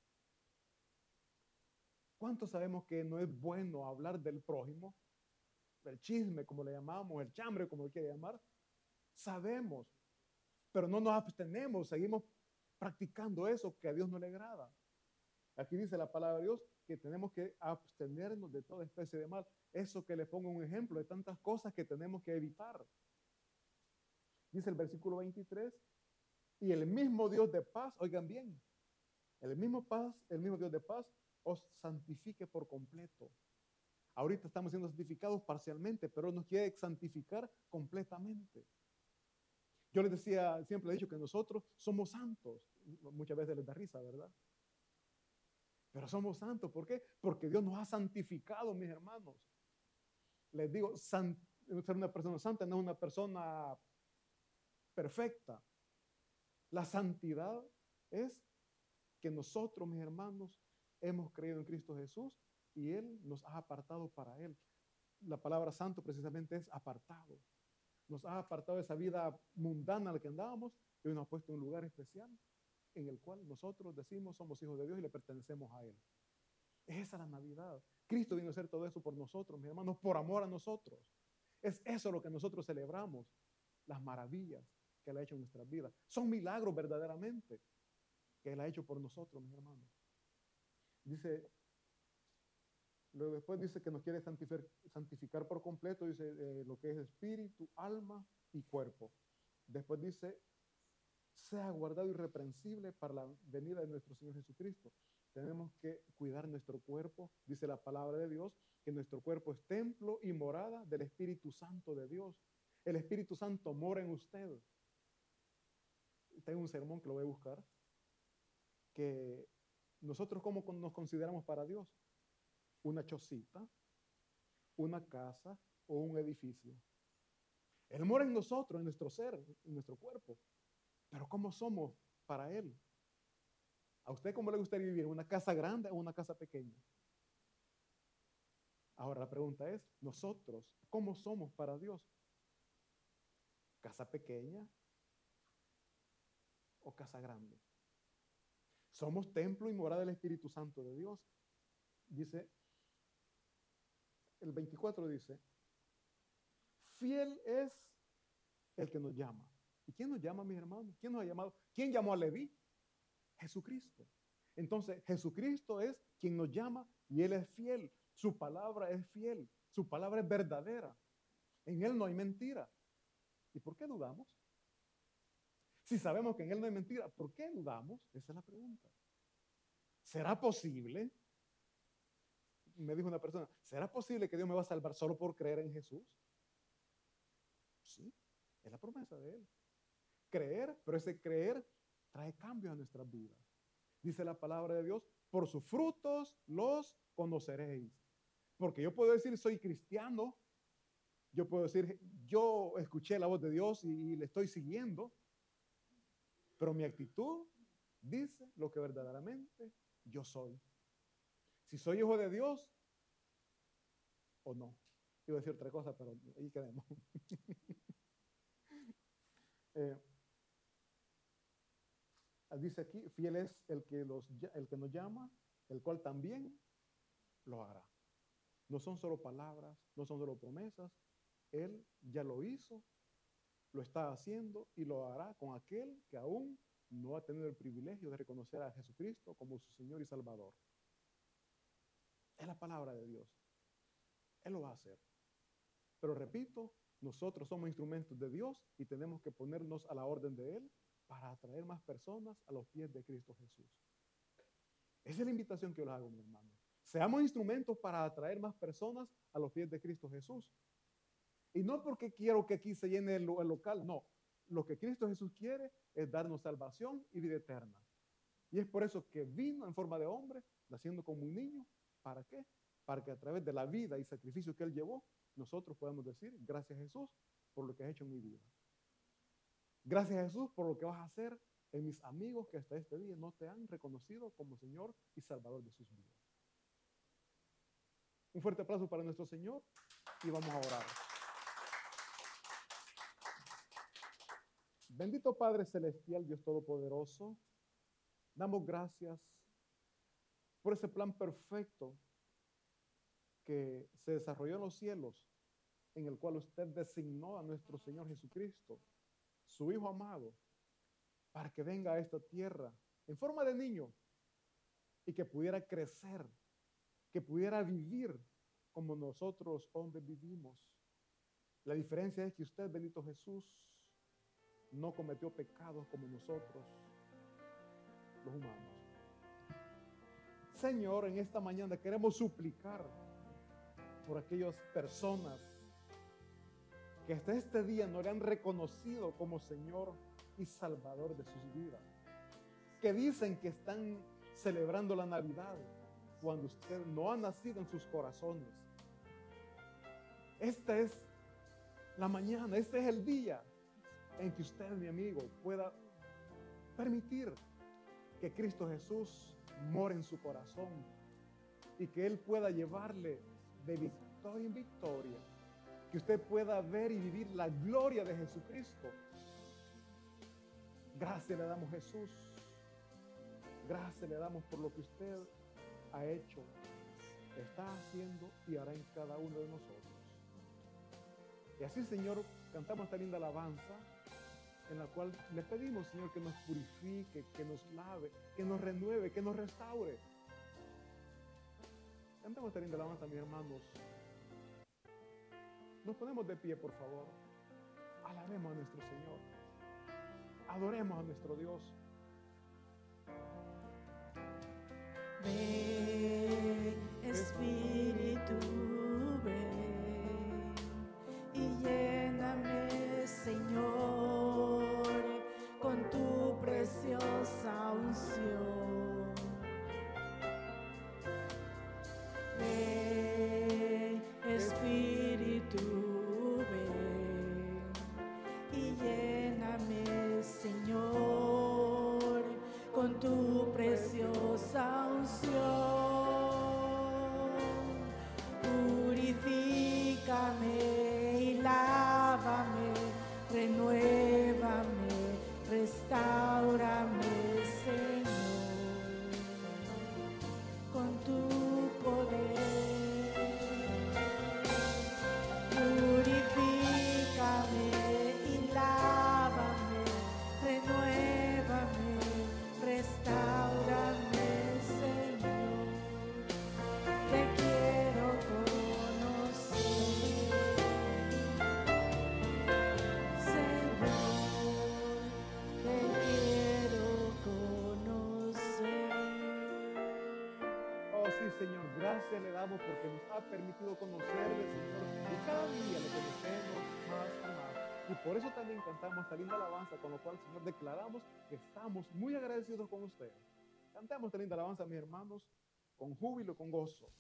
¿Cuántos sabemos que no es bueno hablar del prójimo? El chisme, como le llamamos, el chambre, como le quiere llamar. Sabemos, pero no nos abstenemos, seguimos practicando eso que a Dios no le agrada. Aquí dice la palabra de Dios que tenemos que abstenernos de toda especie de mal. Eso que le pongo un ejemplo de tantas cosas que tenemos que evitar. Dice el versículo 23, y el mismo Dios de paz, oigan bien, el mismo Dios de paz os santifique por completo. Ahorita estamos siendo santificados parcialmente, pero nos quiere santificar completamente. Yo les decía, siempre he dicho que nosotros somos santos. Muchas veces les da risa, ¿verdad? Pero somos santos. ¿Por qué? Porque Dios nos ha santificado, mis hermanos. Les digo, ser una persona santa no es una persona perfecta. La santidad es que nosotros, mis hermanos, hemos creído en Cristo Jesús y Él nos ha apartado para Él. La palabra santo precisamente es apartado. Nos ha apartado de esa vida mundana en la que andábamos y nos ha puesto en un lugar especial en el cual nosotros decimos somos hijos de Dios y le pertenecemos a Él. Esa es la Navidad. Cristo vino a hacer todo eso por nosotros, mis hermanos, por amor a nosotros. Es eso lo que nosotros celebramos, las maravillas que Él ha hecho en nuestras vidas. Son milagros verdaderamente que Él ha hecho por nosotros, mis hermanos. Luego después dice que nos quiere santificar por completo, dice lo que es espíritu, alma y cuerpo. Después dice, sea guardado irreprensible para la venida de nuestro Señor Jesucristo. Tenemos que cuidar nuestro cuerpo. Dice la palabra de Dios que nuestro cuerpo es templo y morada del Espíritu Santo de Dios. El Espíritu Santo mora en usted. Tengo un sermón que lo voy a buscar, que nosotros cómo nos consideramos para Dios. Una chocita, una casa o un edificio. Él mora en nosotros, en nuestro ser, en nuestro cuerpo. Pero ¿cómo somos para Él? ¿A usted cómo le gustaría vivir? ¿Una casa grande o una casa pequeña? Ahora la pregunta es, nosotros, ¿cómo somos para Dios? ¿Casa pequeña o casa grande? Somos templo y morada del Espíritu Santo de Dios. Dice, el 24 dice, fiel es el que nos llama. ¿Y quién nos llama, mis hermanos? ¿Quién nos ha llamado? ¿Quién llamó a Leví? Jesucristo. Entonces, Jesucristo es quien nos llama y Él es fiel. Su palabra es fiel. Su palabra es verdadera. En Él no hay mentira. ¿Y por qué dudamos? Si sabemos que en Él no hay mentira, ¿por qué dudamos? Esa es la pregunta. ¿Será posible? Me dijo una persona, ¿será posible que Dios me va a salvar solo por creer en Jesús? Sí, es la promesa de Él. Creer, pero ese creer trae cambios a nuestras vidas. Dice la palabra de Dios, por sus frutos los conoceréis. Porque yo puedo decir, soy cristiano, yo puedo decir, yo escuché la voz de Dios y le estoy siguiendo, pero mi actitud dice lo que verdaderamente yo soy. Si soy hijo de Dios o no. Iba a decir otra cosa, pero ahí quedemos. Dice aquí, fiel es el que nos llama, el cual también lo hará. No son solo palabras, no son solo promesas. Él ya lo hizo, lo está haciendo y lo hará con aquel que aún no ha tenido el privilegio de reconocer a Jesucristo como su Señor y Salvador. Es la palabra de Dios. Él lo va a hacer. Pero repito, nosotros somos instrumentos de Dios y tenemos que ponernos a la orden de Él para atraer más personas a los pies de Cristo Jesús. Esa es la invitación que yo les hago, mi hermano. Seamos instrumentos para atraer más personas a los pies de Cristo Jesús. Y no porque quiero que aquí se llene el local, no. Lo que Cristo Jesús quiere es darnos salvación y vida eterna. Y es por eso que vino en forma de hombre, naciendo como un niño. ¿Para qué? Para que a través de la vida y sacrificio que Él llevó, nosotros podamos decir, gracias Jesús por lo que has hecho en mi vida. Gracias Jesús por lo que vas a hacer en mis amigos que hasta este día no te han reconocido como Señor y Salvador de sus vidas. Un fuerte aplauso para nuestro Señor y vamos a orar. Bendito Padre Celestial, Dios Todopoderoso, damos gracias por ese plan perfecto que se desarrolló en los cielos, en el cual usted designó a nuestro Señor Jesucristo, su Hijo amado, para que venga a esta tierra en forma de niño y que pudiera crecer, que pudiera vivir como nosotros hombres vivimos. La diferencia es que usted, bendito Jesús, no cometió pecados como nosotros, los humanos. Señor, en esta mañana queremos suplicar por aquellas personas que hasta este día no le han reconocido como Señor y Salvador de sus vidas, que dicen que están celebrando la Navidad cuando usted no ha nacido en sus corazones. Esta es la mañana, este es el día en que usted, mi amigo, pueda permitir que Cristo Jesús more en su corazón y que Él pueda llevarle de victoria en victoria, que usted pueda ver y vivir la gloria de Jesucristo. Gracias le damos, Jesús. Gracias le damos por lo que usted ha hecho, está haciendo y hará en cada uno de nosotros. Y así, Señor, cantamos esta linda alabanza en la cual le pedimos, Señor, que nos purifique, que nos lave, que nos renueve, que nos restaure. Cantamos esta linda alabanza, mis hermanos. Nos ponemos de pie, por favor. Alabemos a nuestro Señor. Adoremos a nuestro Dios. Ven, Espíritu, ven y lléname, Señor, con tu preciosa unción. Ven, Espíritu, ven y lléname, Señor, con tu preciosa unción. Purifícame y lávame, renuévame, restáurame, Señor, con tu poder. Purifícame y lávame, renuévame, restáurame, Señor. Te quiero conocer, Señor, te quiero conocer. Oh sí, Señor, gracias le damos porque nos ha permitido conocerle, Señor, y cada día le conocemos más y más. Y por eso también cantamos esta linda alabanza, con lo cual, Señor, declaramos que estamos muy agradecidos con usted. Cantamos esta linda alabanza, mis hermanos, con júbilo, con gozo.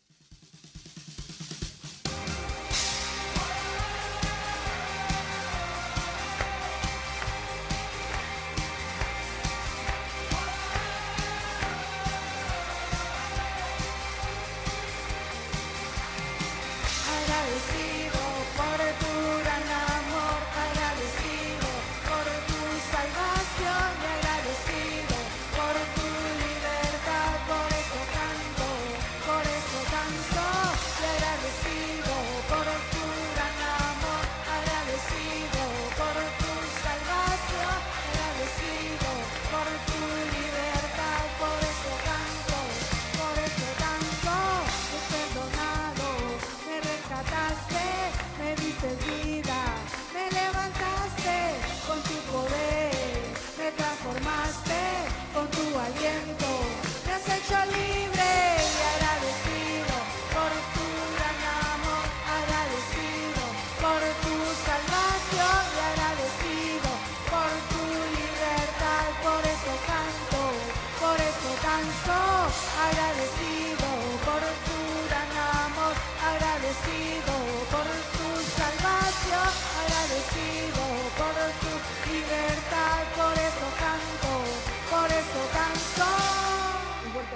Agradecido por tu gran amor, agradecido por tu salvación y agradecido por tu libertad. Por eso canto, y agradecido por tu gran amor, agradecido por tu salvación, agradecido por tu libertad. Por eso canto, he perdonado, me he rescatado.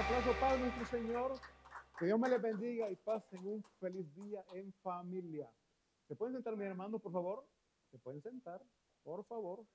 aplauso para nuestro Señor. Que Dios me les bendiga y pasen un feliz día en familia. ¿Se pueden sentar, mis hermanos, por favor? ¿Se pueden sentar, por favor?